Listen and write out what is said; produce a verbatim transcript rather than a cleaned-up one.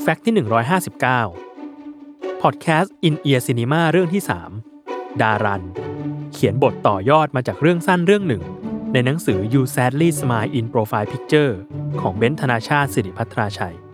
แฟกต์ที่หนึ่งร้อยห้าสิบเก้าพอดแคสต์ In Ear Cinema เรื่องที่สามดารันเขียนบทต่อยอดมาจากเรื่องสั้นเรื่องหนึ่งในหนังสือ You Sadly Smile in Profile Picture ของเบนซ์ ธนาชาติ สิริภัทราชัย